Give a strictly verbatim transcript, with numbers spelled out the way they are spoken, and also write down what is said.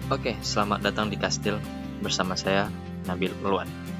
Oke, selamat datang di Kastil bersama saya Nabil Ulwan.